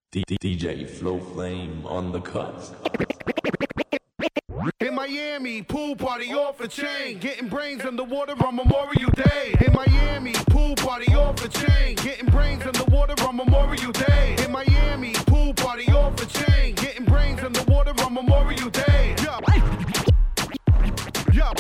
DJ Flow Flame on the cuts. In Miami, pool party off a chain, getting brains in the water on Memorial Day. In Miami, pool party off a chain, getting brains in the water on Memorial Day. In Miami, pool party off a chain, getting brains in the water on Memorial Day. Yeah. Yeah.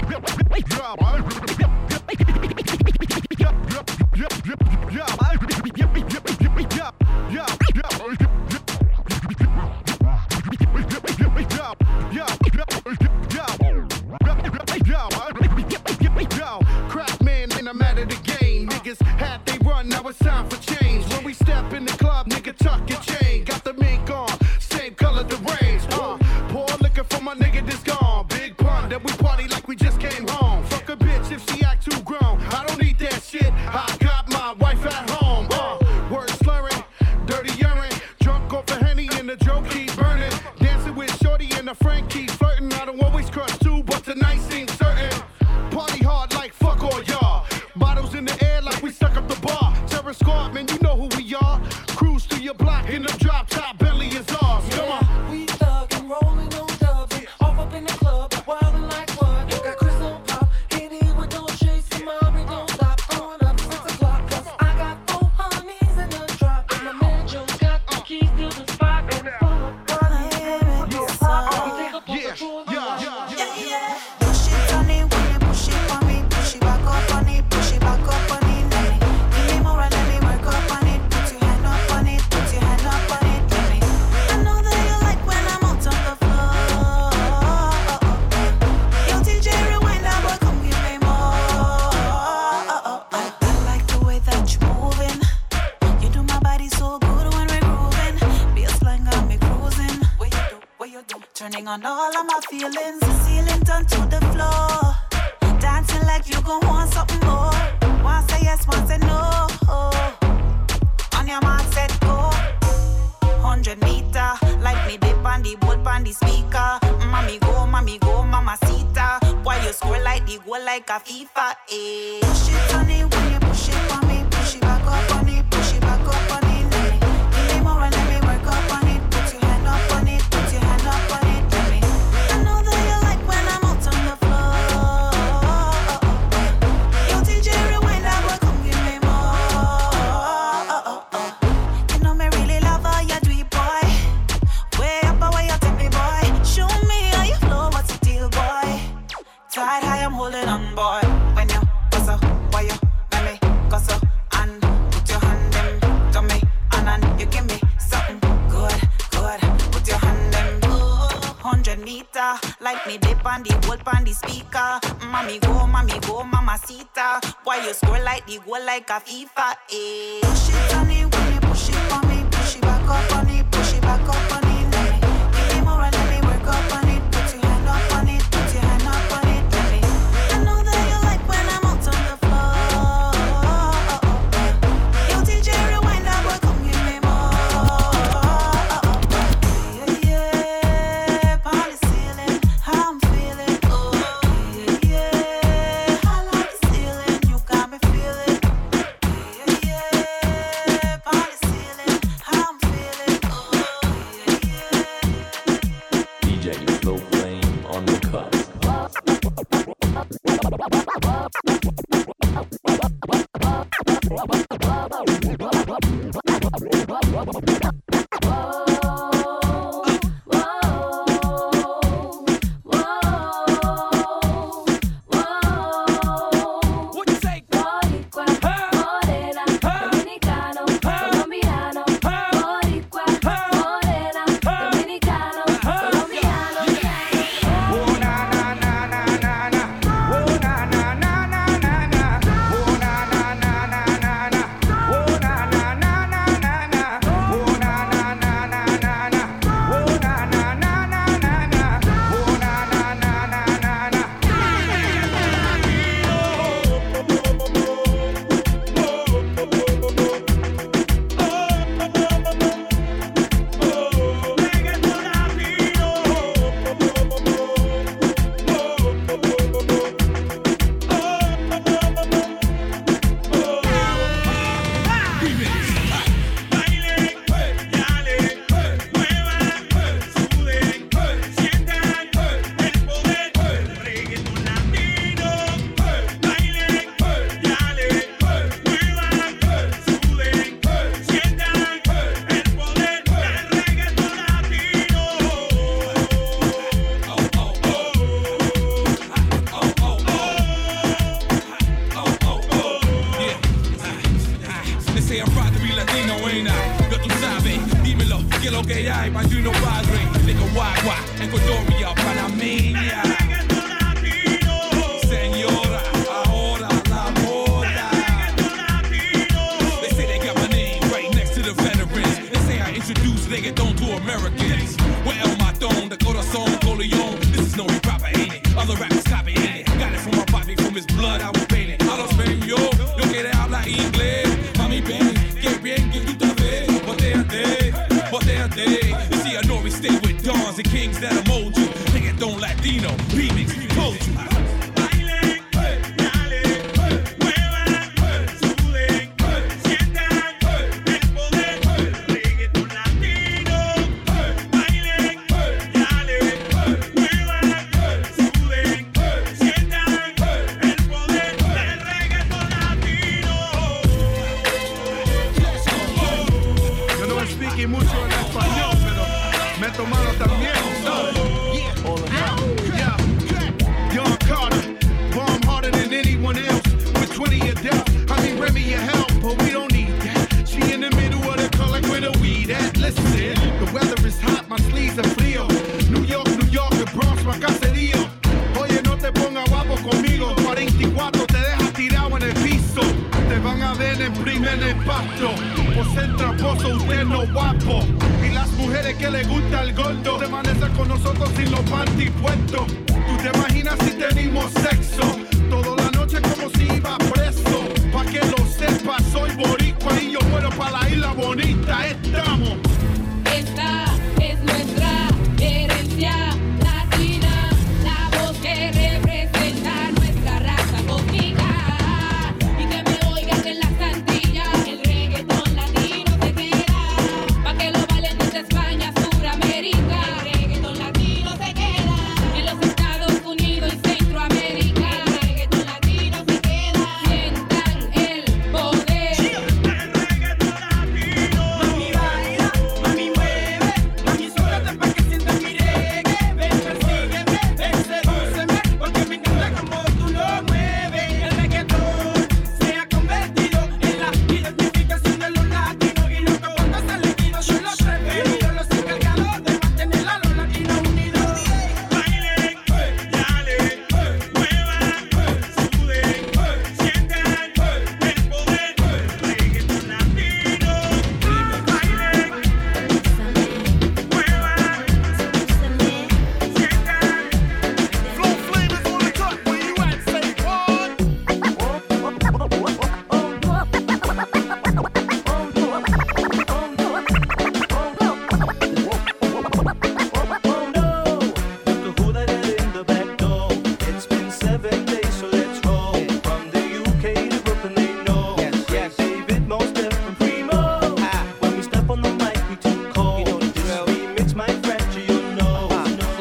Crack man, and I'm out of the game. Niggas had they run, now it's time for change. When we step in the club, nigga, tuck your chain. Got the mink on, same color the range. Pour liquor for my nigga that's gone. Big pun, that we party like we just came home. Fuck a bitch if she act too grown. I don't need that shit. I got my wife at home. Word slurring, dirty urine. Drunk off a Henny and the joke keep burning. Dancing with Shorty and a friend keep flirting. I don't always crush too, but tonight seems certain. Party hard like fuck all y'all. Bottles in the air like we stuck up the bar. Terror squad, man, you know who we are. Cruise through your block in the drop top. Bentley is ours. Come on. We thug and rolling on dubs. Off up in the club, wildin' like what? Got Chris on pop. Hit it with no chase. And mommy don't stop. Going up 6 o'clock. Cause I got 4 honeys in the drop. And my man Joe's got the keys to the spot. Turning on all of my feelings. The ceiling turned to the floor. Dancing like you gon' want something more. One say yes, one say no. On your mark, set, go. 100 meter. Like me dip on the boat on the speaker. Mommy go, mamacita. Why you score like the goal like a FIFA, eh? Push it on it when you push it on me. Push it back up on it. Push it back up on it. Give me more and let me work up on it. Put your hand up on it. Put your hand up on it. Side high, I'm holding on, boy. When you go why you let me go and put your hand in to me, and you give me something good. Put your hand in 100 meter, like me dip on the boat on the speaker. Mommy go, mamacita. Why you score like the goal like a FIFA, eh? Push it on it when you push it on me, push it back up on it, push it back up on it. Give me more and let me work up on it. Put your hand up on it, put your hand up on it. lo que hay, más de uno padre. Nigga, guagua, Ecuadoria, Panameña. Señora, ahora la moda. They say they got my name right next to the veterans. They say I introduce reggaeton to Americans. Where El Matón, the corazón, Coleon. This is no hip hop, ain't it? Other rappers copying it. Got it from my body, from his blood, I was painted. Hablo español, yo quiero hablar inglés. Mami, ven, que bien que tú te ves. Botéate. You see, I know we stay with dons and kings that'll mold you. Reggaeton Latino, remix, told you. Mano también, yeah. Young Carter, bomb harder than anyone else. With 20 of death, I mean Remy your help, but we don't need that. She in the middle of the car like where the weed at. Listen, the weather is hot, my sleeves are frío. New York, the Bronx, my caserío. Oye, no te pongas guapo conmigo. 44 te deja tirado en el piso. Te van a ver en primer impacto. Por ser tramposo, usted no guapo. Y las mujeres que le gusta el gordo permanecen con nosotros sin los panties puestos. Tú te imaginas si tenemos sexo toda la noche como si iba preso. Pa' que lo sepas, soy boricua y yo muero pa' la isla bonita. Estamos. Esta es nuestra herencia latina, la voz que representa nuestra raza cósmica. Y que me oigan en las Antillas, el reggaetón latino se queda. Pa' que lo bailen desde España, Suramérica. El reggaetón latino se queda. En los Estados Unidos y Centroamérica. El reggaetón latino se queda. Sientan el poder. El reggaetón latino. Mami baila, mami mueve, mami suéltate pa' que sientas mi reggae. Ven, persígueme, ven, sedúceme, porque me encanta como tú lo mueves. El reggaetón se ha convertido en la identificación de los latinos. Y lo que aporta es el equipo, yo los preferidos, los encargados de mantener a los latinos unidos. Bailen, dale, muevan, suden, sientan el poder. Reggaetón latino. Bailen, muevan, sientan. Flow flavors on the top, where you at? Say what? Who let it in the back door? It's been 7 days, so let's roll. From the UK to Brooklyn, they know. Yes. David, Most Def, and Primo. When we step on the mic, we too cold. This remix might fracture your nose.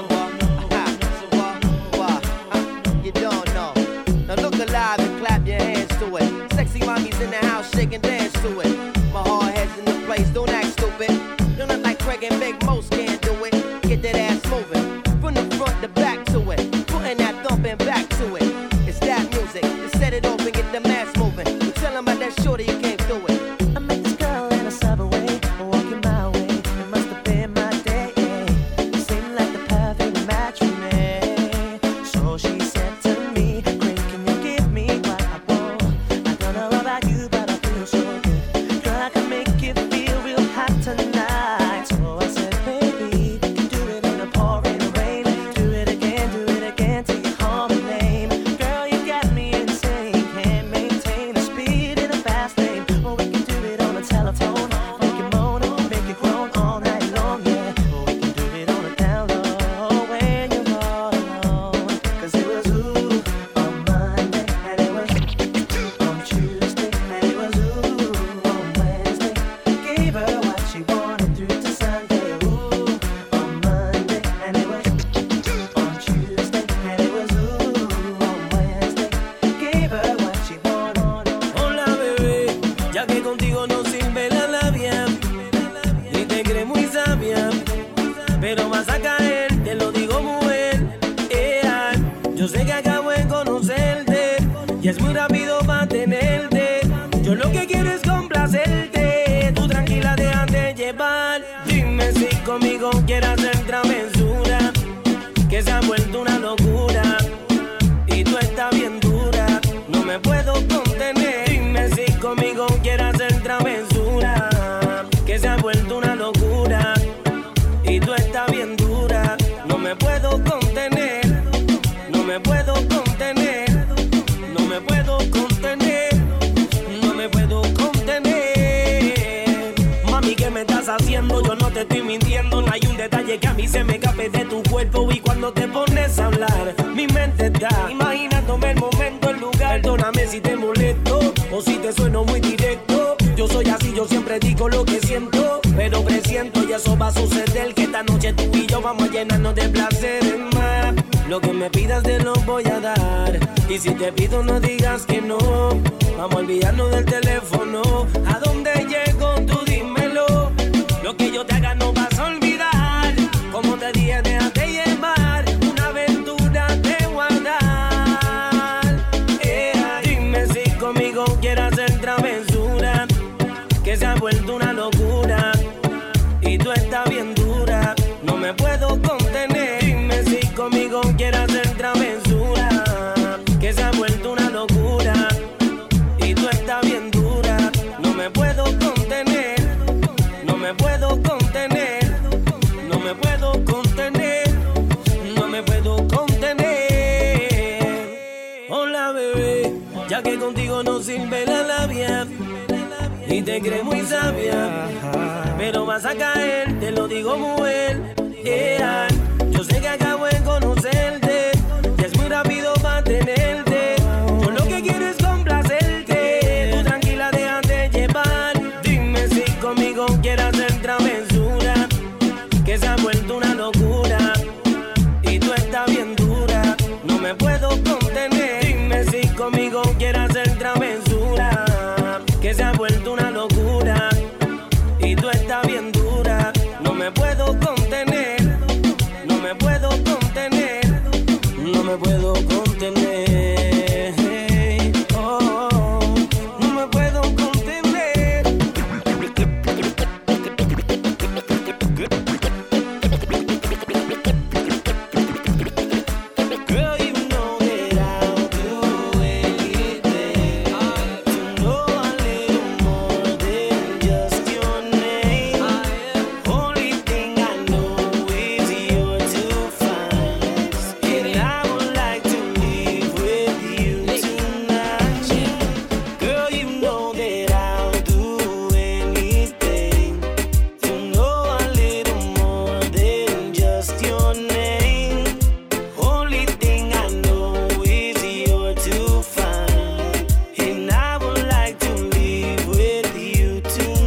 You don't know. Now look alive and clap your hands to it. Sexy mommies in the house, shake and dance to it. My hard head's in the place, don't act stupid. Don't act like Craig and Big Most can't do it. Get that ass moving, from the front to back to it. Putting that thumping back to it. It's that music, to set it off and get the mass moving. You tell 'em about that shorty, you came through it. I met this girl in a subway, walking my way. It must have been my day. Seemed like the perfect match for me. So she said to me, "Great, can you give me what I want? I don't know about you, but I feel so good. Girl, I can make you feel real hot tonight." So I said, "Baby, you can do it in the pouring rain. Do it again till you call my name. Girl, you got me insane. Can't maintain the speed in a fast lane. Or we can do it on the telephone. Make you moan, make you groan all night long, yeah. Or we can do it on the down low when you're all alone. 'Cause it was ooh on Monday, and it was on Tuesday, and it was ooh on Wednesday. Gave her what she wanted through to Sunday. Ooh on Monday, and it was on Tuesday, and it was ooh on Wednesday. Gave her what she wanted. Hola bebé, ya que contigo no sirve la labia, ni te crees muy sabia, pero vas a caer, te lo digo mujer. Yo sé que acabo de conocerte y es muy rápido para tenerte. Yo lo que quiero es complacerte, tú tranquila déjate llevar. Dime si conmigo quiere hacer travesura, que se ha vuelto una locura y tú estás bien dura, no me puedo contener. Dime si conmigo quiere hacer travesura, que se ha vuelto una locura y tú estás bien dura, no me puedo contener, no me puedo contener, no me puedo contener, no me puedo contener. Mami, ¿qué me estás haciendo? Yo no te estoy mintiendo, no hay un detalle que a mí se me escape de tu cuerpo. Y cuando te pones a hablar, mi mente está imaginándome el momento, el lugar. Perdóname si te molesto o si te sueno muy directo. Yo soy así, yo siempre digo lo que siento, pero presiento y eso va a suceder, que esta noche tú y yo vamos a llenarnos de placeres más. Lo que me pidas te lo voy a dar, y si te pido no digas que no. Vamos a olvidarnos del teléfono. ¿A dónde llego? Tú dímelo. Lo que yo te haga no vas a olvidar. Como te dije, déjate llevar, una aventura te voy a dar. Dime si conmigo quieres hacer travesura, que se ha vuelto una locura y tú estás bien dura, no me puedo contener. Dime si conmigo quieres hacer travesura, que se ha vuelto una locura y tú estás bien dura, no me puedo contener, no me puedo contener, no me puedo contener, no me puedo contener. Hola bebé, ya que contigo no sirve la labia y te crees muy sabia, pero vas a caer, te lo digo mujer. Yo sé que acabo de conocerte y es muy rápido para tenerte. Yo lo que quiero es complacerte, tú tranquila déjate llevar. Dime si conmigo quieres hacer travesura, que se ha vuelto una locura y tú estás bien dura, no me puedo contener. Dime si conmigo quieres hacer travesura, que se ha vuelto una locura y tú estás bien dura, no me puedo contener, no me puedo contener, no me puedo contener, oh, no me puedo contener. Girl, you know that I'll do anything to know a little more than just your name. Only thing I know is you're too fine, and I would like to live with you tonight. Girl, you know that I'll do anything to know a little more than just your name. Only thing I know is you're too fine, and I would like to live with you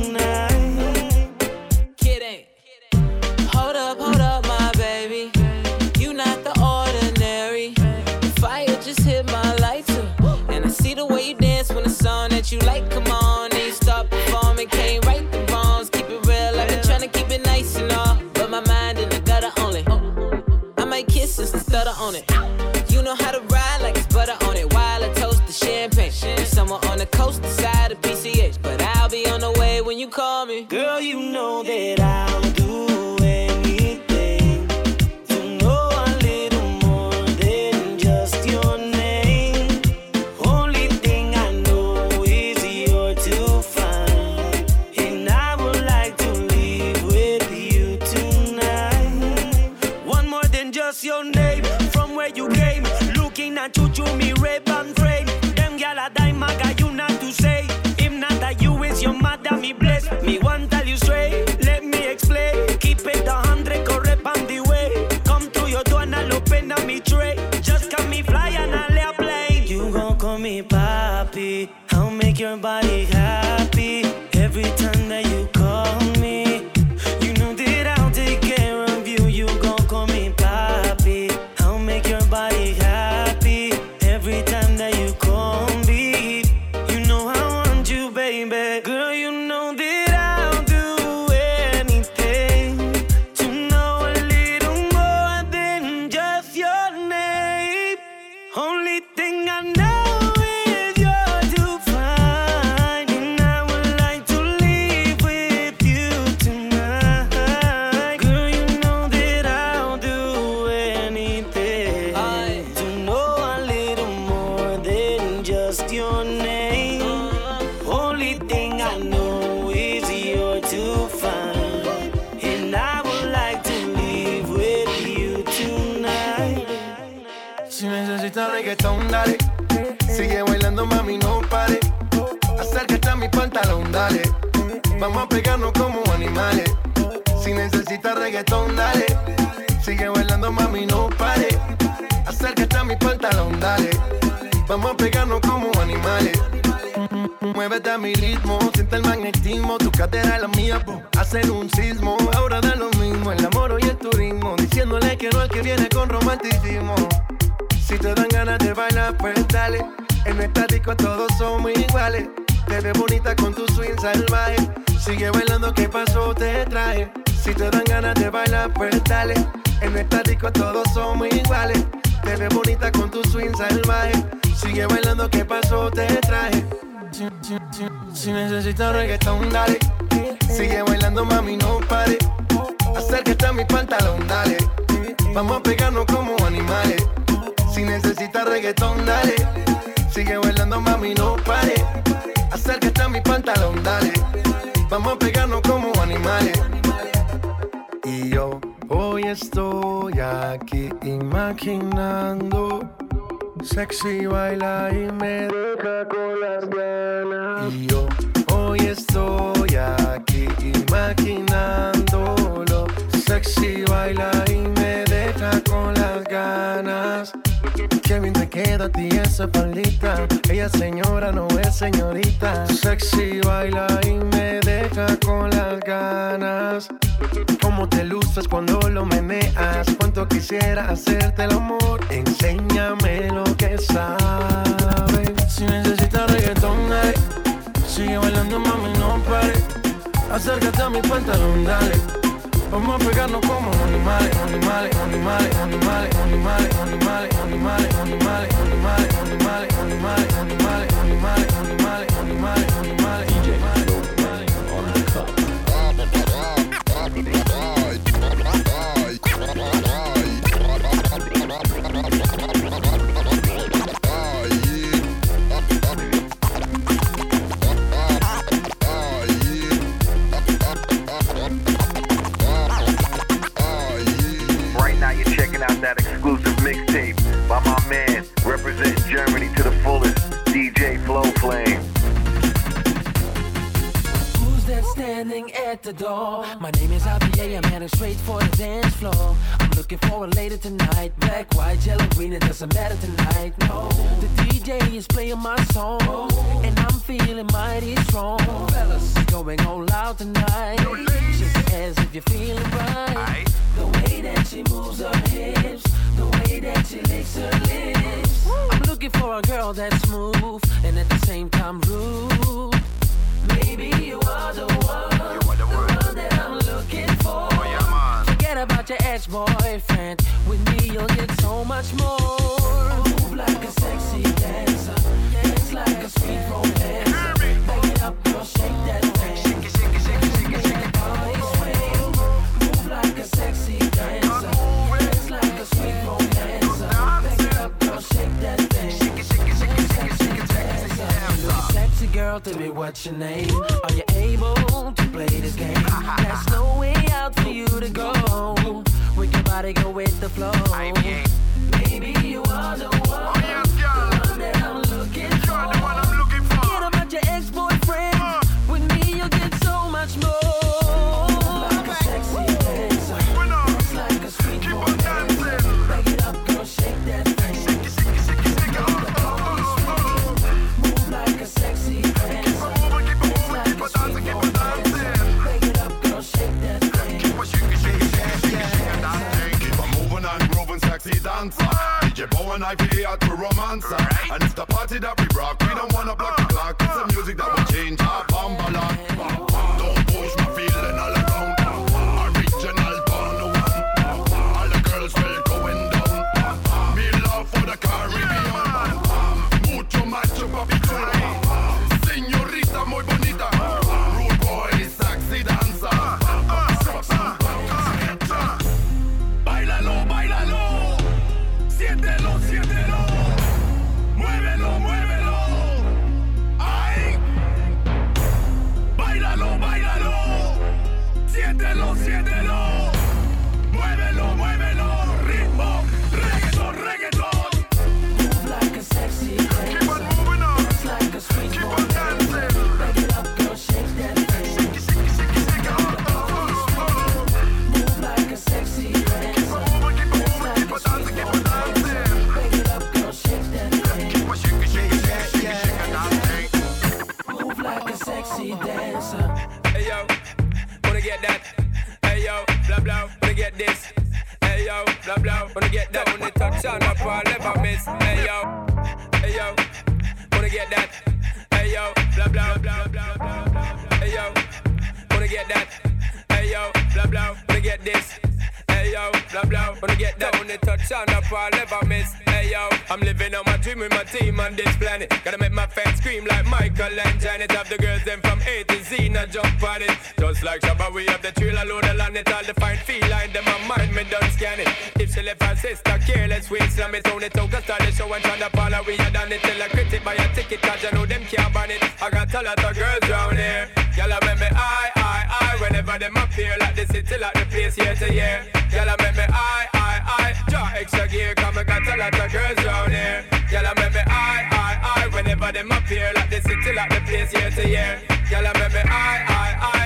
tonight. Kidding. Hold up, my baby. You not the ordinary. Fire just hit my lights up, and I see the way you dance when the song that you like come on. And you start performing, can't right the wrongs. Keep it real, I've been trying to keep it nice and all, but my mind in the gutter only. I might kiss and stutter on it. You know how to ride like it's butter on it. While I toast the champagne, and somewhere on the coast, the side of PCH, but I'll be on the way when you call me. Girl, you know that I'll do anything to know a little more than just your name. Only thing I know is you're too fine, and I would like to live with you tonight. One more than just your name, from where you came, looking at you through me red band frame. Them gyal a dime, I got you not to say. If not that you is your mother, me bless. Me want tell you straight, let me explain. Keep it 100, correct on the way. Come to your door and I'll open up me tray. Just come me fly and I'll airplane. You gon' call me papi, I'll make your body happy. Every time that you call me, you know that I'll take care of you. You gon' call me papi, I'll make your body happy. Every time that you reggaetón, dale. Sigue bailando, mami, no pare. Acércate a mi pantalón, dale. Vamos a pegarnos como animales. Si necesitas reggaetón, dale. Sigue bailando, mami, no pare. Acércate a mi pantalón, dale. Vamos a pegarnos como animales. Muévete a mi ritmo, siente el magnetismo. Tu cadera es la mía, hacen un sismo. Ahora da lo mismo, el amor y el turismo. Diciéndole que no al que viene con romanticismo. Si te dan ganas de bailar, pues dale. En esta disco todos somos iguales. Te ves bonita con tu swing salvaje. Sigue bailando, ¿qué pasó? Te traje. Si te dan ganas de bailar, pues dale. En esta disco todos somos iguales. Te ves bonita con tu swing salvaje. Sigue bailando, ¿qué pasó? Te traje. Si necesitas reggaetón, dale. Sigue bailando, mami, no pare. Acércate a mi pantalón, dale. Vamos a pegarnos como animales. Si necesitas reggaetón, dale. Sigue bailando, mami, no pare. Acércate a mi pantalón, dale. Vamos a pegarnos como animales. Y yo hoy estoy aquí imaginando. Sexy baila y me deja con las ganas. Y yo hoy estoy aquí imaginándolo. Sexy baila y me deja con las ganas. Qué bien te queda a ti esa faldita. Ella señora, no es señorita. Sexy baila y me deja con las ganas. Cómo te luces cuando lo meneas. Cuánto quisiera hacerte el amor. Enséñame lo que sabes. Si necesitas reggaetón, dale. Sigue bailando, mami, no pare. Acércate a mi pantalón, dale. Vamos a pegarnos como animales, animales, animales, animales, animales, animales, animales, animales, animales, animales, animales, animales, animales, animales, animales, animales. DJ Flow Flame on the cuts. That exclusive mixtape by my man, representing Germany to the fullest, DJ Flow Flame. Who's that standing at the door? My name is IPA, I'm heading straight for the dance floor. I'm looking for a lady tonight. Black, white, yellow, green, it doesn't matter tonight. No, the DJ is playing my song, and I'm feeling mighty strong. Fellas, going all out tonight. Shake your ass if you're feeling right. The way that she moves her hips, the way that she licks her lips. I'm looking for a girl that's smooth and at the same time rude. Maybe you are the one, the one that I'm looking for. Forget about your ex-boyfriend. With me you'll get so much more. Move like a sexy dancer, dance like a sweet romancer. Back it up, girl, shake that thing. Shake it, shake it, shake it, shake it, shake it. Body swing. Move like a sexy dancer, dance like a sweet romancer. Back it up, girl, shake that thing. Shake it, shake it, shake it, shake it, shake it, dancer. Sexy girl, tell me what's your name. Are you able to play this game? There's no way out for you to go. With your body, go with the flow. Maybe you are the one, the one that I'm looking for. Forget about your ex-boyfriend. With me, you'll get so much more. Like a sexy dancer, dance like a sweet romancer. Back it up, girl, shake that thing. Shake it, shake it, shake it, shake it. Move like a sexy dancer, dance like a sweet romancer. Back it up, girl, shake that thing. Keep on moving and grooving, sexy dancer. DJ Bow and I play out to romancer. And it's the party that we rock. We don't wanna block the clock. It's the music that will change our bambala. Don't push my feeling all around. Original born the one. All the girls will going down. Me love for the Caribbean. Mucho macho papi chulo. Señorita muy bonita. Rude boy, sexy dancer. Báilalo, báilalo. Siéntelo, siéntelo. Muévelo, muévelo. Ay. Báilalo, báilalo. yo, blah blah, wanna get this. Hey yo, blah blah, wanna get that. When they touch on up, I'll never miss. Hey yo, wanna get that. Hey yo, blah blah blah blah blah blah. Hey yo, wanna get that. Hey yo, blah blah, wanna get this. Hey yo, blah blah, wanna get that. When they touch on up, I'll never miss. Hey yo, I'm living on my dream with my team on this planet. Gotta make my fans scream like Michael and Janet. Have the girls them from A to Z, now jump on it. Just like Shabba, we have the trailer load of land. It all the fine feline, them my mind, me done scan it. If she left her sister careless, we slam it on it. Took us to the show and tryna follow. We had done it till I critic buy a ticket, cause you know them can't ban it. I got a lot of girls round here. Y'all make me I. Whenever them appear like the city, like the place year to year. Y'all make me I. Draw extra gear, come I got a lot of girls round here. Y'all make me I. Whenever them appear like the city, like the place year to year. Y'all make me I.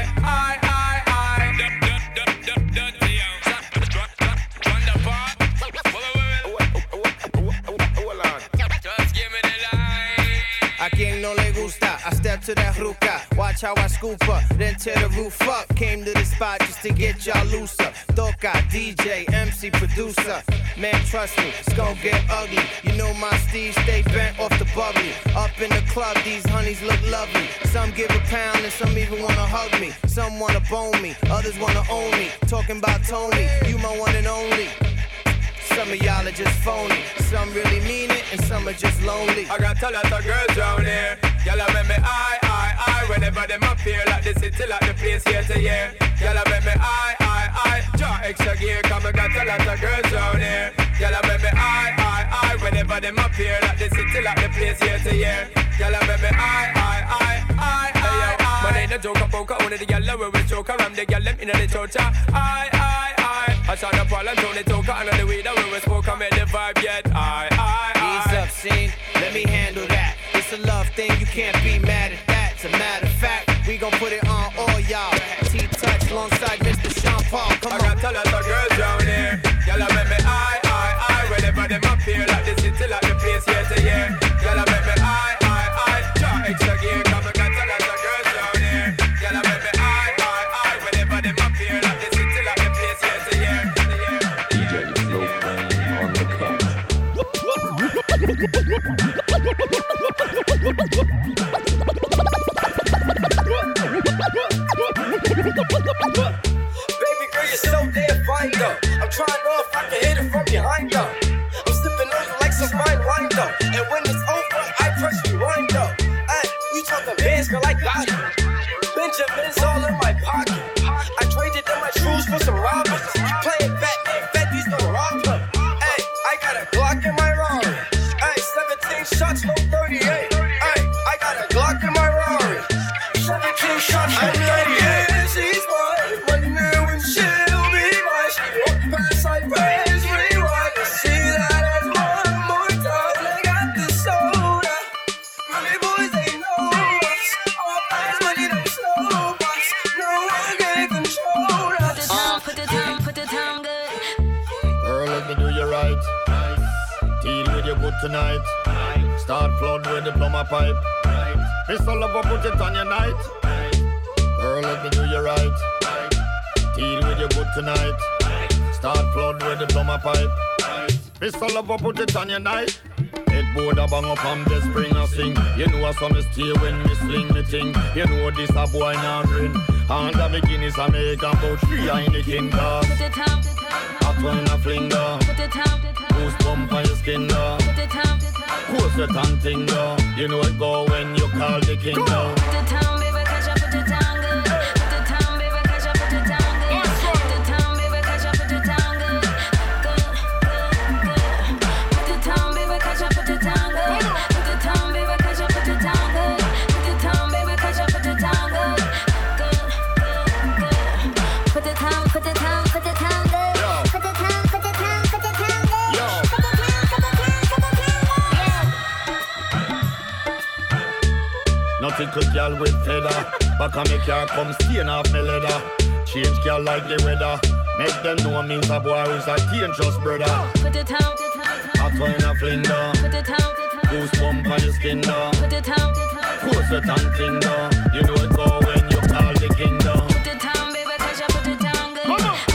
A quien no le gusta, I step to that ruca. Watch how I scoop up, then tear the roof up. Came to the spot just to get y'all looser. Toca, DJ, MC, producer. Man, trust me, it's gon' get ugly. You know my Steve stay bent off the bubbly. Up in the club, these honeys look lovely. Some give a pound and some even wanna hug me. Some wanna bone me, others wanna own me. Talking about Tony, you my one and only. Some of y'all are just phony. Some really mean it and some are just lonely. I got a lot of girls round here. Y'all make me I. Whenever them appear like the city, like the place year to year. Y'all make me I. Draw extra gear, come I got a lot of girls round here. Y'all make me I. Whenever them appear like the city, like the place year to year. Y'all make me I. My name a joke, a poker, only the gyal where we choke. I'm the gyal them in the chocha. I shot up all and Tony Toka and on the way that when we spoke, I made the vibe yet. Ease up, scene, let me handle that. It's a love thing, you can't be mad at that. As a matter of fact, we gon' put it on all y'all. T-Touch alongside Mr. Sean Paul, come on. I got a lot of girls down here. Y'all make me I. Whenever them appear like the city, like the place year to year. Y'all make me I. Draw extra gear, come I got a lot of girls down here. Y'all make me I. Whenever them appear like the city, like the place year to year. DJ Flow on the cut. Baby girl, you're so damn fine though. I'm trying off, I can hit it from behind though. I'm slipping on you like some fine wine though. And when it's over, I press rewind though. Ay, you talking bands, girl, I got it. Benjamin's all in my pocket. I traded in my shoes for some robbers. Playing Batman, Fetty's no robber. Ay, I got a Glock in my Rari. Ay, 17 shots, no 38. Ay, I got a Glock in my Rari. 17 shots, no 38. She's mine, money now and she'll be mine. She walked past sideways, rewind to see that as one more time. They got the soda, money boys they know us. All fast money don't slow us. No one can control us. Put the time good. Girl, let me do you right. Deal with you good tonight. Start flood with the plumber pipe. Pistol up, put it on your night. Girl, let me do you right. Deal with you good tonight. Start flood with the plumber pipe. Pistol up, put it on your night. Headboard a bang up and the spring a sing. You know a son stay when me sling the thing. You know this a boy now grin. And the beginnings a make about 3 in the king car. Put the time. Hot one a fling da. Put the time. Goose bump on your skin da. Put the time. Course your tongue thing da. You know it go when you call the king da. Put the time, baby, catch up, put the time good. Put the time, baby, catch up, put the time good. Put the time, baby, catch up, put the time good. Put the time, baby, catch up, put the time good. Put the time, baby, catch up, put the time good. Put the time, baby, catch up, put the time good. Put the time, put the time, put the time good. Put the time, put the time, put the time good. Yo. Put the time, put the time, put the time good. Nothing could girl with feather. Back on me car come stain off me leather. Change girl like the weather. Make them know me's a boy who's a dangerous brother. Put the time, Hot one a fling da. put the time, Goose bump on your skin da. put the time, Course your tongue thing da. You know it go when you call the king da. put the time, baby, catch up, put the time good. Put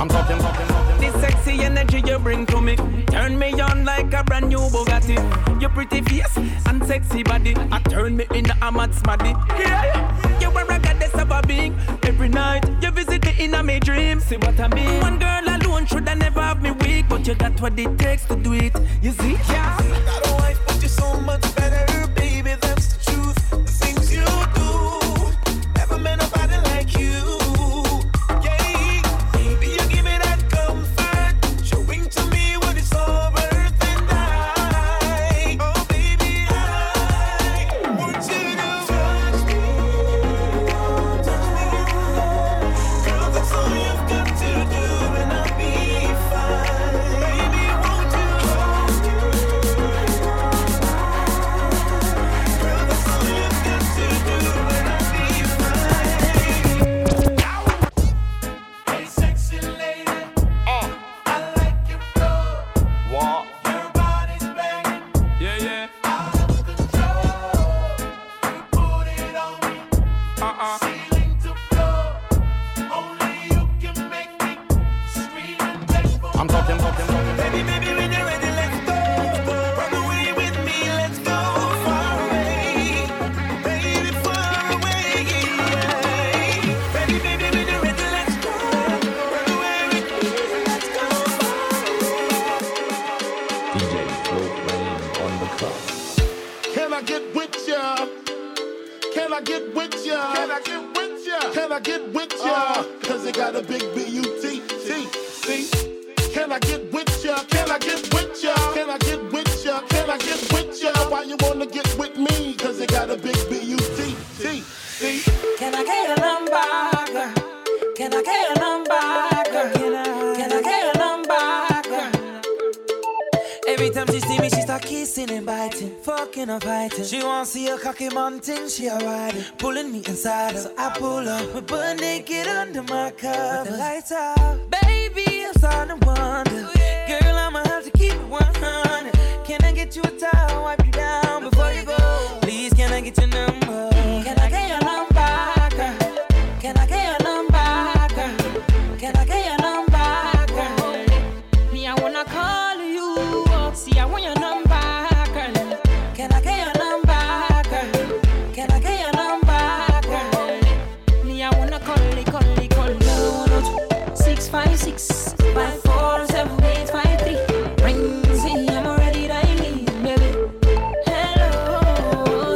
I'm talking. This sexy energy you bring to me turn me on like a brand new Bugatti. Your pretty face and sexy body I turn me in a mad smaddy. Yeah, you are a goddess of a being. Every night you visit me in a my dreams. See what I mean? One girl alone should I never have me weak, but you got what it takes to do it. You see? Yeah. Got a wife, but you're so much better, baby. That's the truth. The things you do, never met nobody like you. She wants to see a cocky mountain, she a ride it, pulling me inside her. So I pull up, we butt naked under my cover. With the lights out, baby, I'm starting to wonder. Girl, I'ma have to keep it 100. Can I get you a towel, wipe you down before you go? Please, can I get your number? Can I get your number, girl? Can I get your number, girl? Can I get your number, girl? Me, I wanna call you. See, I want your number. Can I get your number, girl? Can I get your number, girl? Me, I wanna call it. 656 54 7853. Rings in, I'm already dialing, baby. Hello,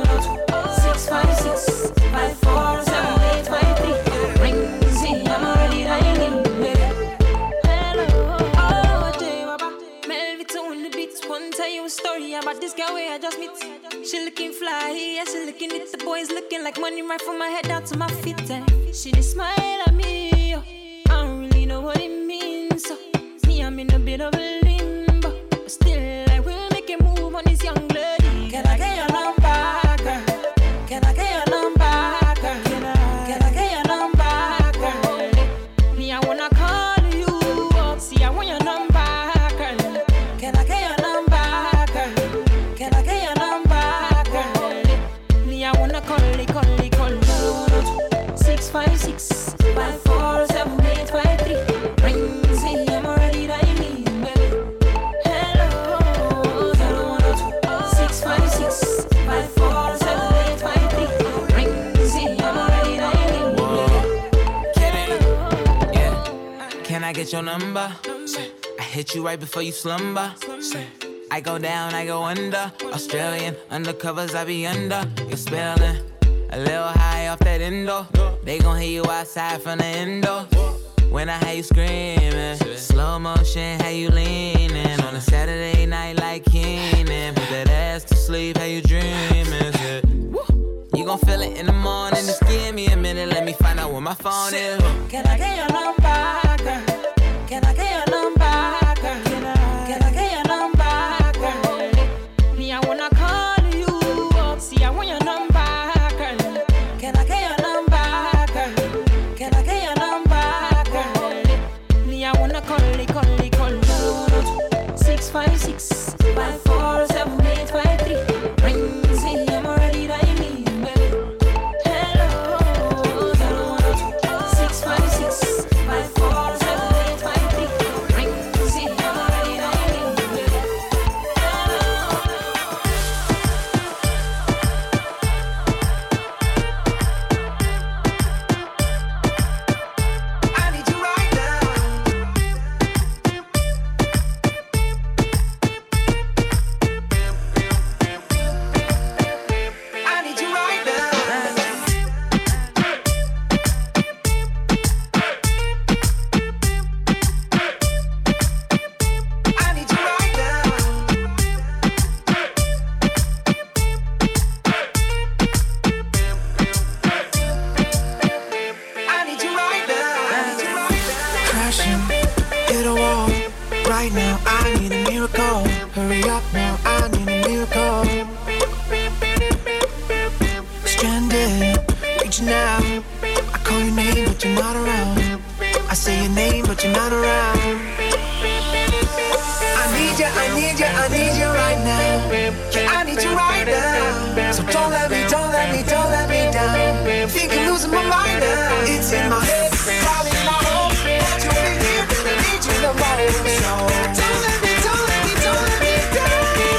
656 54 7853. Rings in, I'm already dialing, baby. Hello, oh, J-Baba, Melvito in the beats. One tell you a story about this girl where I just meet. She looking fly, yeah, she looking at the boys looking like money right from my head down to my feet. She just smile at me, oh. I don't really know what it means. So me, I'm in a bit of a limbo, but still I will make a move on this young lady. Can I get your number, girl? Can I get your number, girl? Can I get your number, girl? Me, I wanna call you. See, I want your number, girl. Can I get your number, girl? Can I get your number, girl? Me, I wanna call it. 656 54 7853. Rings in, I'm already dialing, baby. Hello, 656 54 7853. Rings in, I'm already dialing, baby. Yeah. Can I get your number? I hit you right before you slumber. I go down, I go under. Australian undercovers, I be under. You're spelling a little high off that endo. They gon' hear you outside from the endo. When I hear you screaming, slow motion, how you leaning. On a Saturday night like Keenan. Put that ass to sleep, how you dreaming. You gon' feel it in the morning. Just give me a minute, let me find out where my phone is. Can I get your number, girl? Can I get your number, girl? Can I get your number, girl? Me, I wanna call you. See, I want your number. Can I get your number, girl? Can I get your number, girl? Me, I wanna call it. 656 54 7853. Rings in, I'm already dialing, baby. Hello, 656 54 7853. rushing, hit a wall. Right now, I need a miracle. Hurry up now, I need a miracle. Stranded, reaching out. I call your name, but you're not around. I say your name, but you're not around. I need you, I need you, I need you right now. Yeah, I need you right now. So don't let me, don't let me, don't let me down. Think I'm losing my mind now. It's in my head, probably my home. You'll be here, but I need you the most. So don't let me, don't let me, don't let me down.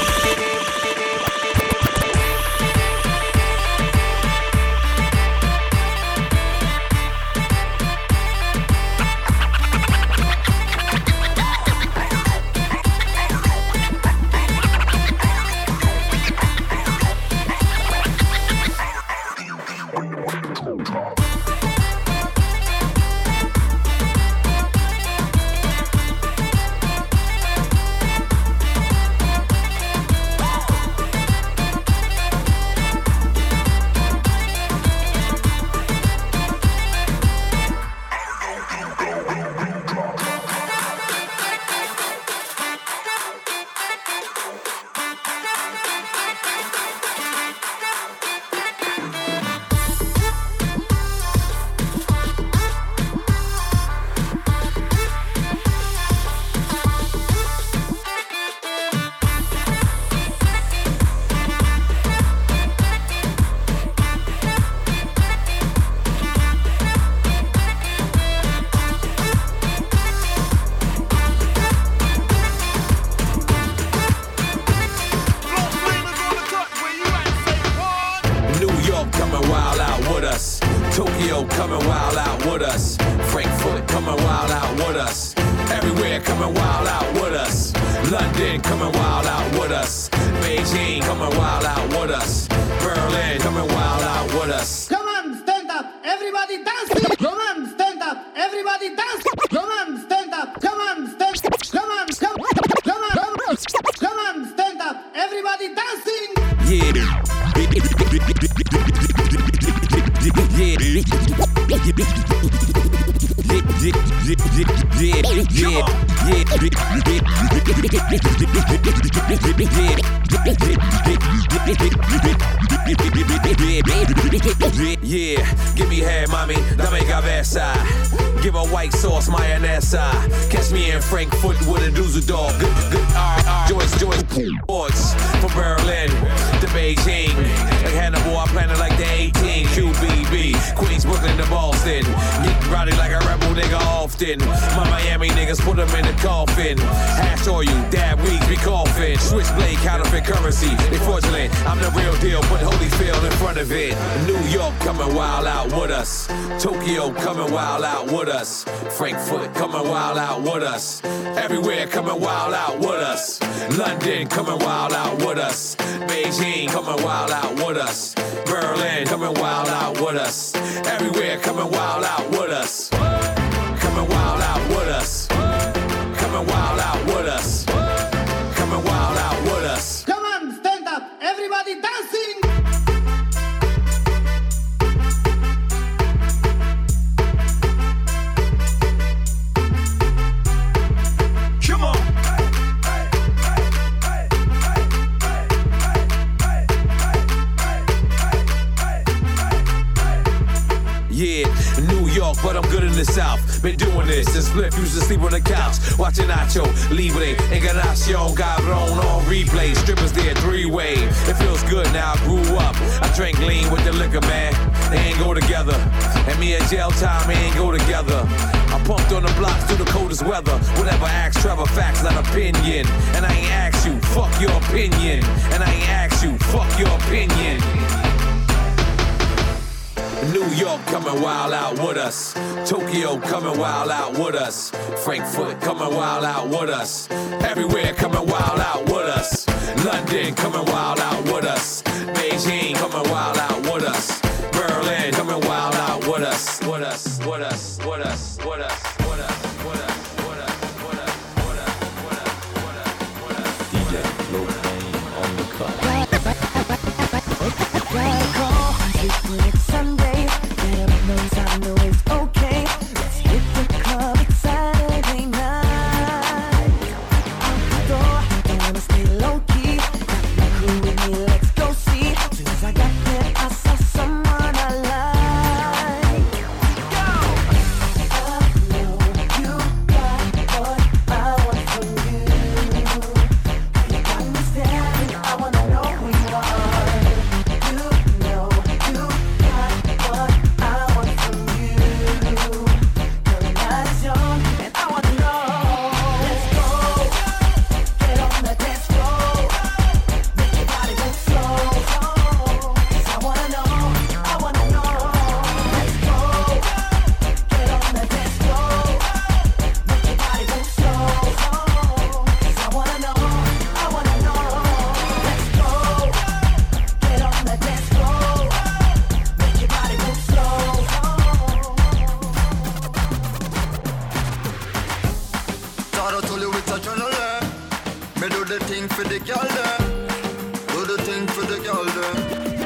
Yeah, give me head, mommy, dame cabeza. Give a white sauce, mayonesa. Catch me in Frankfurt with a Dusseldorf. Good Joyce, sports from Berlin to Beijing. Like Hannibal, I planted like the 18. QBB, Queens, Brooklyn to Boston. Get rowdy like a rebel nigga often. My Miami niggas put them in the coffin. Hash oil, dab weeds, we coughing. Switchblade, counterfeit currency. They fraudulent, I'm the real deal, put Holyfield in front of it. New York coming wild out with us. Tokyo coming wild out with us. Frankfurt coming wild out with us. Everywhere coming wild out with us. London coming wild out with us. Beijing coming wild out with us. Berlin coming wild out with us. Everywhere coming wild out with us. Coming wild out with us. Coming wild out with us. Coming wild out with us. Come on, stand up, everybody dancing. Come on. Yeah, New York, but I'm good in the South. Been doing this since Spliff used to sleep on the couch. Watching Nacho, Libre, Encarnacion, Cabron on replay. Strippers there, three-way. It feels good now, I grew up. I drank lean with the liquor, man. They ain't go together. And me and jail time, we ain't go together. I pumped on the blocks through the coldest weather. Whatever, ask Trevor, facts, not opinion. And I ain't ask you, fuck your opinion. And I ain't ask you, fuck your opinion. New York coming wild out with us. Tokyo coming wild out with us. Frankfurt coming wild out with us. Everywhere coming wild out with us. London coming wild out with us. Beijing coming wild out with us. Berlin coming wild out with us. With us, with us, with us, with us, with us, with us, with us, with us, with us, with us, with us, with us. DJ Flo Flame on the cut. When it's Sunday, get up, knows I know it's okay. Let's hit the club, it's Saturday. the thing for the girl them. Do the thing for the girl them.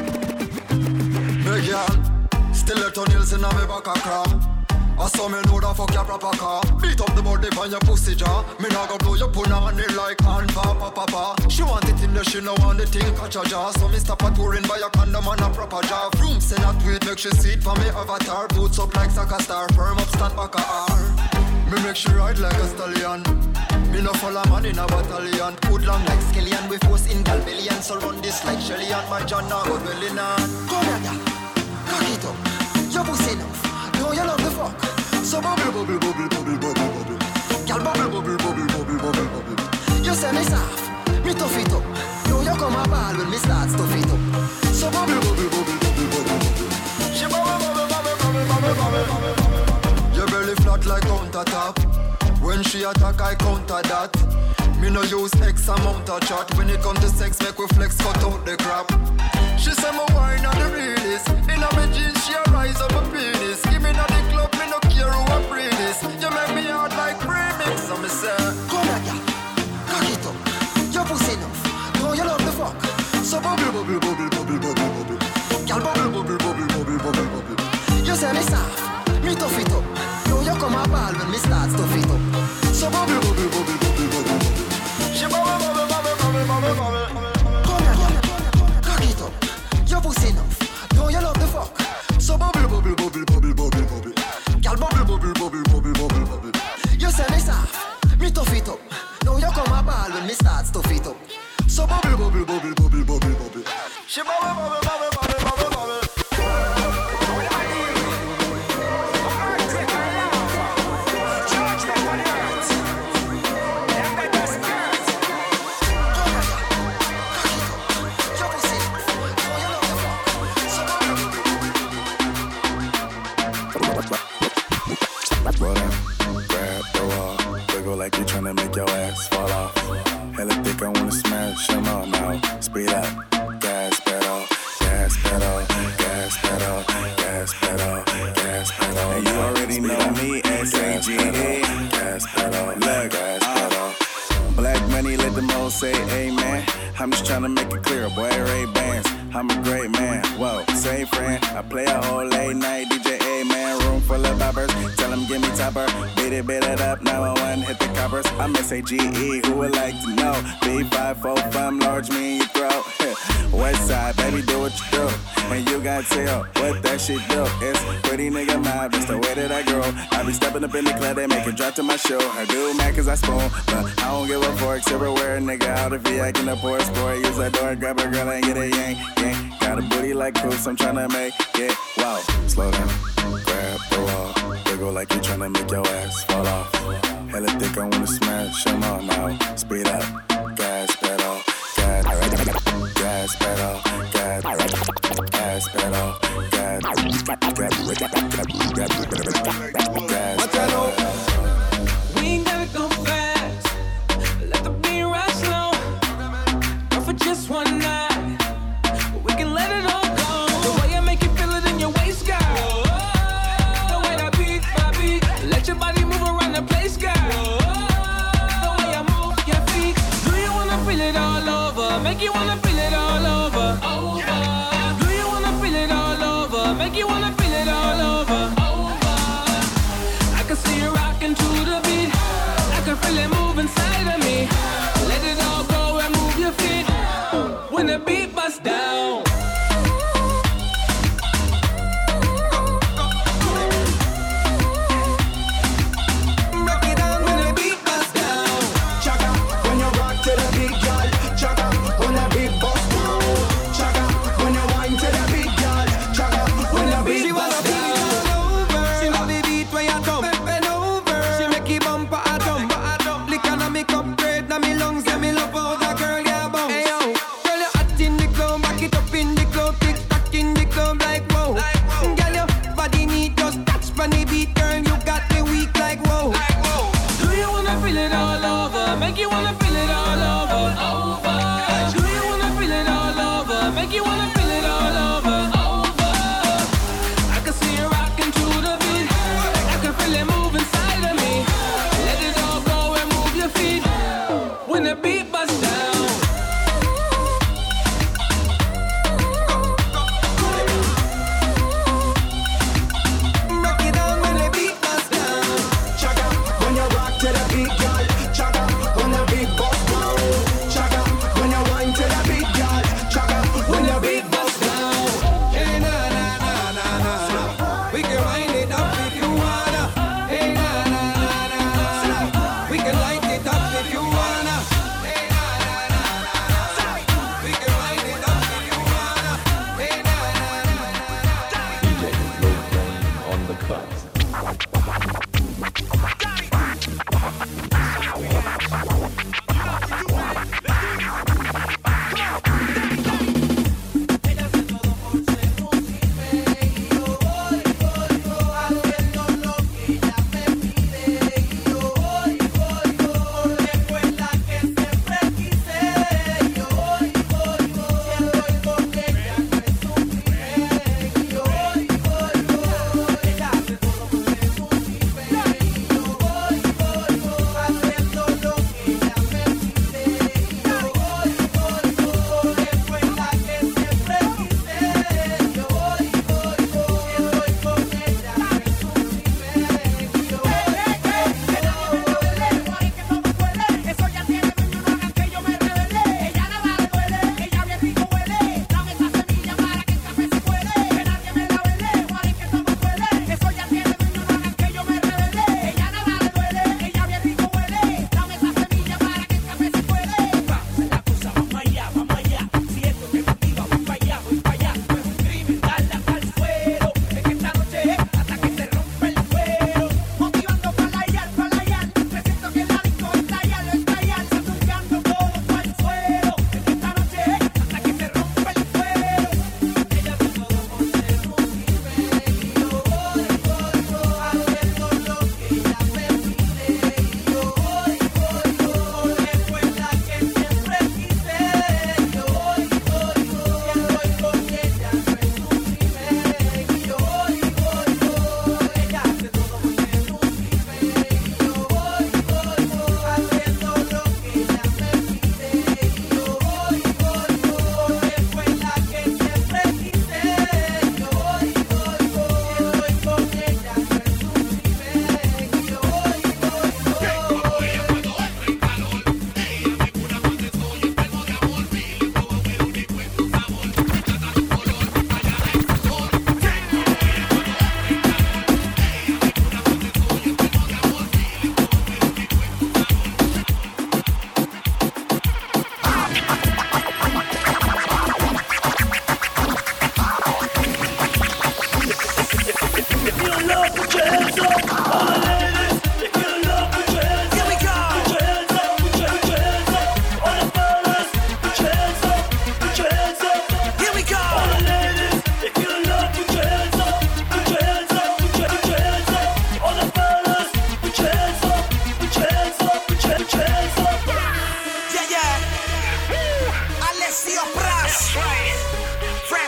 Hey girl, still a nails in my back a cram. I saw me know that fuck your proper car. Beat up the body on your pussy jaw. Me nah go blow your punani like hand papa. She want it in the she no want the thing catch a jaw. So me stop a touring by a condom and a proper jaw. Vroom send a tweet make she see it for me avatar. Boots up like soccer star, firm up stand back a R. Me make she ride like a stallion. Me no follow man in a battalion. Hood long like skillion. We force in galbillion. So run this like Shelly and my John now go dwelling on. Come here girl, cock it up. Your pussy enough. No, you love the fuck. So bubble, bubble, bubble, bubble, bubble, bubble. Girl, bubble, bubble, bubble, bubble, bubble, bubble. You say me soft, me tough it up. No, you come a ball when me start stuff it up. So bubble, bubble, bubble, bubble, bubble, bubble. She bubble, bubble, bubble, bubble, bubble, bubble, bubble. Your belly flat like countertop. When she attack, I counter that. Me no use X amount of chat. When it come to sex, make we flex, cut out the crap. She say my wine on the realest. In a me jeans, she a rise up a penis. Give me na the club, me no care who a free this. You make me hard like premix. So me say, come here, girl, cock it up. Your pussy enough. No, you love the fuck. So bubble, bubble, bubble, bubble, bubble, bubble. Girl, bubble, bubble, bubble, bubble, bubble, bubble. You say me soft, me tough it up. No, you come a ball when me start stuff it up. So bubble, bubble, bubble, bubble, bubble, bubble. She bubble, bubble, bubble, bubble, bubble, bubble. Come here, cock it up. Your pussy enough. No, you love the fuck. So bubble, bubble, bubble, bubble, bubble, bubble. Girl, bubble, bubble, bubble, bubble, bubble, bubble. You say me soft, me tough it up. Now you come a ball when me start stuff it up. So bubble, bubble, bubble, bubble, bubble, bubble. She bubble, bubble, bubble, bubble, bubble, bubble. Like you tryna make your ass fall off. Hella thick, I wanna smash them all now. Speed up, gas pedal, gas pedal, gas pedal, gas pedal, gas pedal. And you already know me, S-A-G-E. Gas pedal, look, gas pedal. Black money, let them all say amen. I'm just tryna make it clear, boy, Ray-Bans. I'm a great man, whoa, same friend. I play a whole late night DJ, man. Room full of boppers, tell them give me topper. Beat it up, 911, hit the coppers. I'm S-A-G-E, who would like to know? B545, from large, me in your throat. West side, baby, do what you do. And you got tell what that shit do. It's pretty nigga mob, it's the way that I grow. I be stepping up in the club, they make it drop to my show. I do mad cause I spoon, but I don't give a fork. Everywhere, nigga, out of V, acting up for a sport. Use that door, grab a girl and get a yank, yank. Got a booty like Coos, I'm tryna make it wow. Slow down, grab the wall. Wiggle like you tryna make your ass fall off. Hella thick, I wanna smash them all now. Speed up, gas pedal, gas pedal, gas pedal, gas pedal, We ain't gotta go fast. Let the beat ride slow. Go for just one night. We can let it all go. The way I make you feel it in your waist, girl. The way that beat by beat. Let your body move around the place, girl. The way I move your feet. Do you wanna feel it all over? Make you wanna feel it all over. Do you wanna feel it all over? Make you wanna feel it all over. I can see you rocking to the beat. I can feel it move inside of me. Let it all go and move your feet. When the beat busts down. Break it down when the beat busts down. Chaka, when you rock to the beat, girl. Chaka, when the beat busts down. Chaka, when you whine to the beat, girl. Chaka, when the beat busts down. She love the beat when you come. Bend over. She make it bumper a dump. Lick on me cup, bread na me lungs. Yeah, me love how that girl get bounce. Hey yo, girl you hot in the club, back it up in the club, tick tock in the club like whoa. Girl your body need just touch on the beat, girl you got me weak like whoa. Do you wanna feel it all over? Make you wanna feel it all over. Do you wanna feel it all over? Make you wanna feel it all over. I can see you rocking to the beat. I can feel it move inside of me. Let it all go and move your feet. When the beat busts down.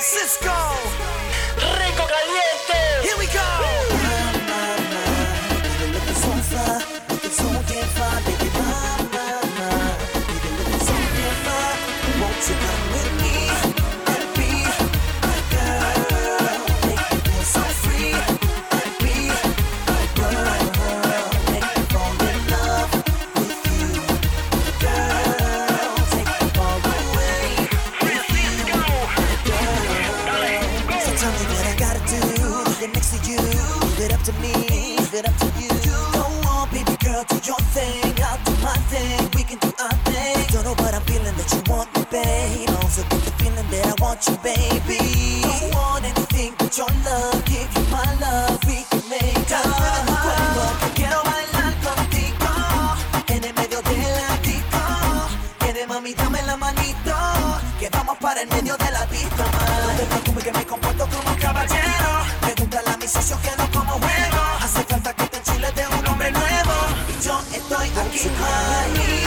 Cisco, Rico Caliente. Here we go. Looking so far, looking so damn far, baby. Looking so damn far. Won't you come with me and be my girl? Make me feel so free and be my girl. Make me fall in love with you, girl. Take me far away with you, girl. So tell me what I gotta do to get next to you. Leave it up to me, leave it up to you. Go on, baby girl, do your thing, I'll do my thing. We can do our thing. Don't know what I'm feeling that you want me, babe. Also get the feeling that I want you, baby. Don't want anything but your love. Give you my love, we can make love. Quiero bailar contigo en el medio del ático. Quiere mami, dame la manito, que vamos para el medio de la pista. No te preocupes que me comporto como un caballero. Pregúntale a mis socios que no como juego. Hace falta que te enchules de un hombre nuevo. Y yo estoy aquí, honey.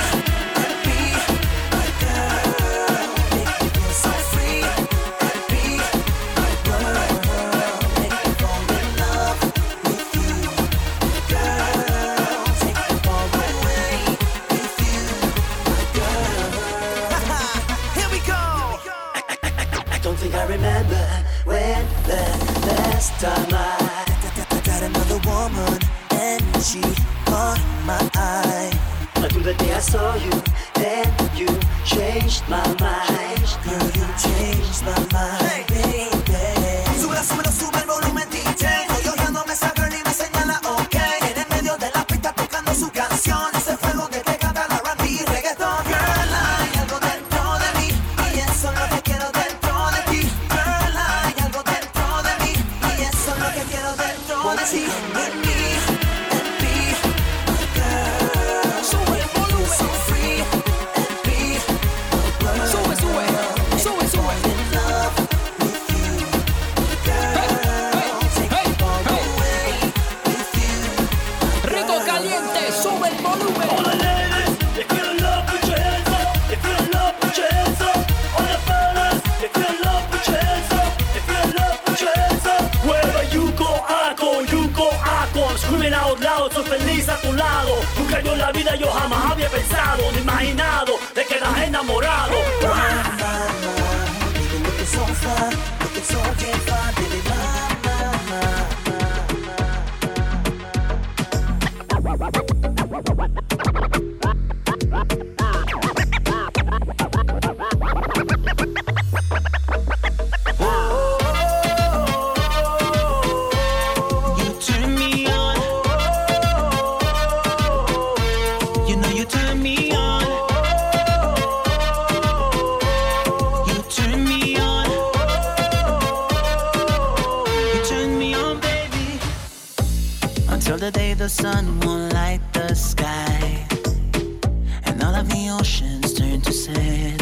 I remember when the last time I got another woman and she caught my eye. I knew the day I saw you, then you changed my mind. Girl, you changed my mind, baby. Súbelo, sube el volumen, DJ. Estoy ojeándome esa girl y me señala, ok. En el medio de la pista tocando su canción. Ese fuego que te canta la R&B y reggaeton. Girl, hay algo dentro de mí y eso es lo que quiero dentro de ti. Girl, hay algo dentro de mí y eso es lo que quiero dentro de ti. With me and be my girl. Sube el volumen. So free and be my girl. Sube, sube, sube, sube. In love with you, girl. Take me far away with you. Rico Caliente, sube el volumen. All the ladies, if you're in love, put your hands up. If you're in love, put your hands up. All the fellas, if you're in love, put your hands up. If you're in love, put your hands up. Wherever you go, I go, you go, I go. I'm screaming out loud, soy feliz a tu lado. Nunca yo en la vida yo jamás había pensado ni imaginado de quedar enamorado. Looking so far, looking so damn far, baby, you turn me on. You know you turn me on. You turn me on. You turn me on, baby. Until the day the sun won't light the sky and all of the oceans turn to sand.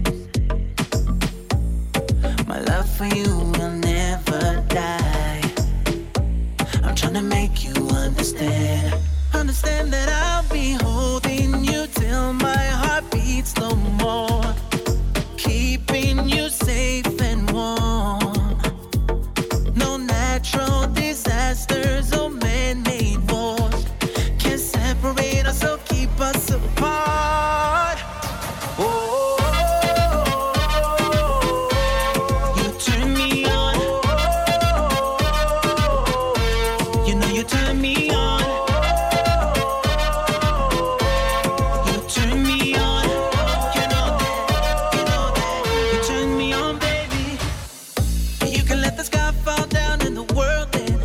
My love for you will never die. I'm trying to make you understand. Understand that I'll be holding you till my heart beats no more. Keeping you safe and warm. No natural disasters or man-made wars can separate us or keep us apart. Oh, you turn me on. You know you turn me on. You turn me on. You know that. You turn me on, baby. You can let the sky fall down and the world end.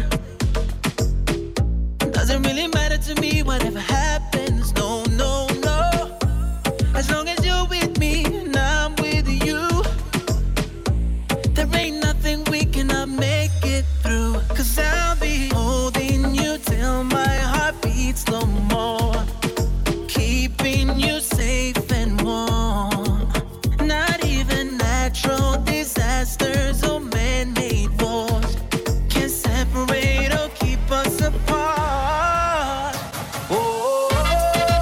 Doesn't really matter to me whatever happens. No, no, no. As long as you're with me and I'm with you, there ain't nothing we cannot make it through. 'Cause I'll be holding you till my heart beats no more. Keeping you safe and warm. Not even natural disasters or man-made wars can separate or keep us apart. Oh,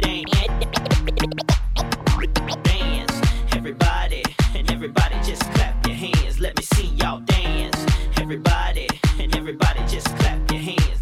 Dance, everybody, and everybody just clap your hands. Let me see y'all dance. Everybody, and everybody just clap your hands.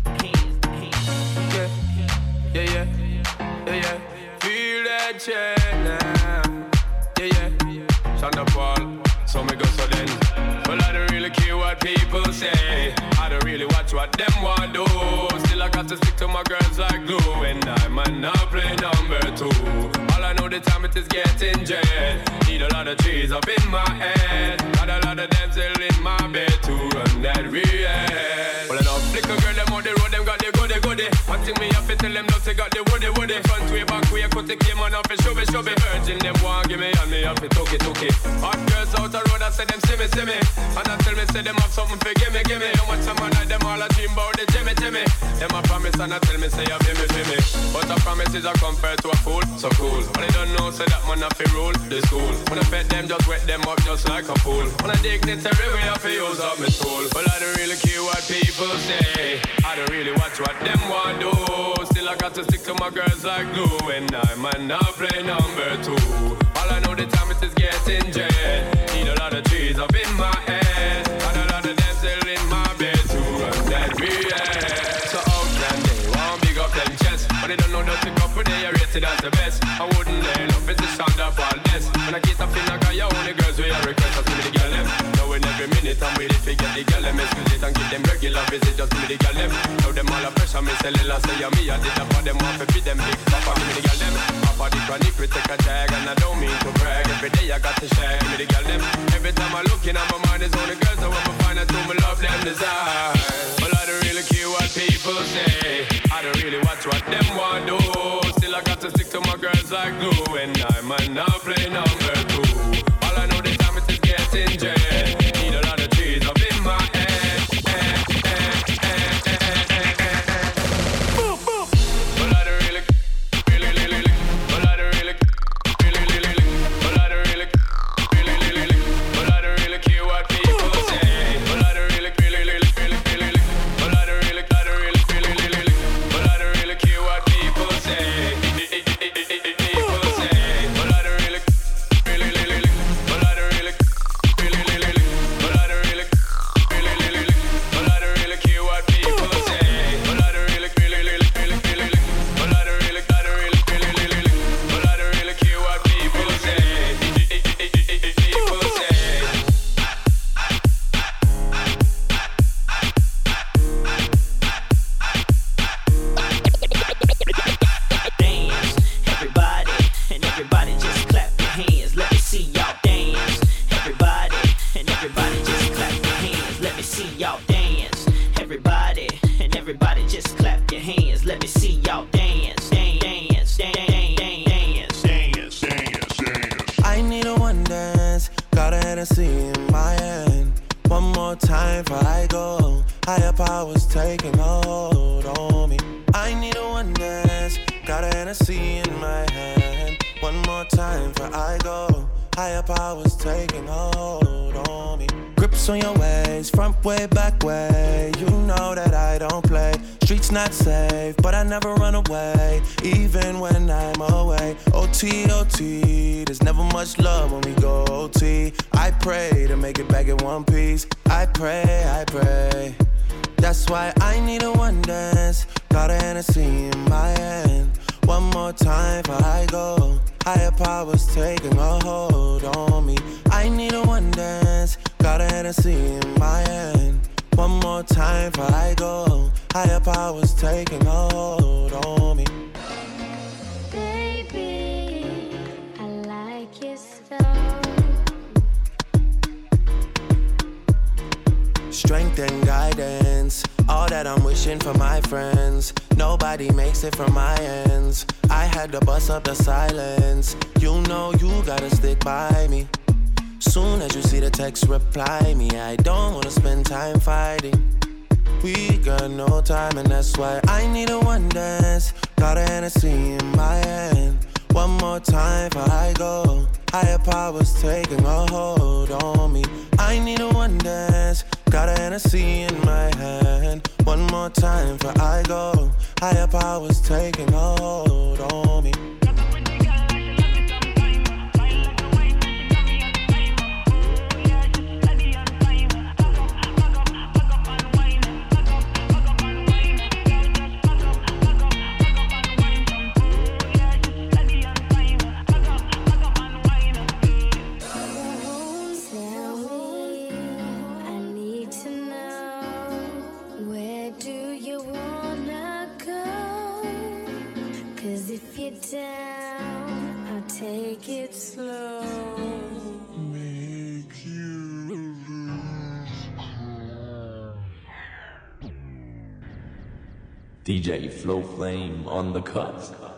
Yeah. Feel that check now. Yeah. Shonda Paul, so me go so then. Well, I don't really care what people say. I don't really watch what them want do. Still I got to stick to my girls like glue. And I might not play number 2. All I know the time it is getting jet. Need a lot of trees up in my head. Got a lot of them still in my bed to run that real. Well, I know flick a girl them on the road, them got the goody. One thing me have to tell them no, they got the woody. Front way, back way, cut the came on off and show me. Virgin them want give me and me have to took it. Hot girls out the road, I say them see me. And I tell me say them have something for gimme. How much some man like them all a dream about the Jimmy. Them a promise and I tell me say you feel me. But a promise is a compared to a fool, so cool. But they don't know say that man have to rule the school. When I pet them, just wet them up just like a fool. When I dignitary, we have to use up my tool. Well, I don't really care what people say. I don't really watch what them want do. Still I got to stick to my girls like glue. And I might not play number 2. All I know the time it is getting jet. Need a lot of trees up in my head. Got a lot of them still in my bed to run that real. So outland they want big up them chest. But they don't know that the couple they are rated as the best. I wouldn't lay love it's the sound of all this. When I get up in I got your only girls we are request. I see me the girl them. Now in every minute I'm with it to get the girl them. Excuse it and give them regular visit just give me the girl them. Now them all a pressure me sell it last say me I did that for them off if them big papa give me the girl them. Papa the chronic we take a tag and I don't mean to brag. Every day I got to share give me the girl them. Every time I look in at my mind is only girls I want to find out who me love them desire. Well I don't really care what people say. I don't really watch what them want do. Still I got to stick to my girls like glue. And I might not play number 2. All I know the time it is getting jet. Need a lot of trees up in my head. Well I don't really well I don't really well I don't really care what people say. Well I don't really well I don't really well I don't really care what people say. There's never much love when we go OT. I pray to make it back in one piece. I pray. That's why I need a one dance. Got a Hennessy in my hand. One more time before I go. Higher powers taking a hold on me. I need a one dance. Got a Hennessy in my hand. One more time before I go. Higher powers taking a hold on me. Baby, I like your so. Strength and guidance, all that I'm wishing for my friends. Nobody makes it from my ends. I had to bust up the silence. You know you gotta stick by me. Soon as you see the text, reply me. I don't wanna spend time fighting. We got no time and that's why I need a one dance. Got a Hennessy in my hand. One more time before I go. Higher powers taking a hold on me. I need a one dance. Got a Hennessy in my hand. One more time for I go. Higher powers taking hold on me. Down, I'll take it slow. Make you DJ Flow Flame on the cut.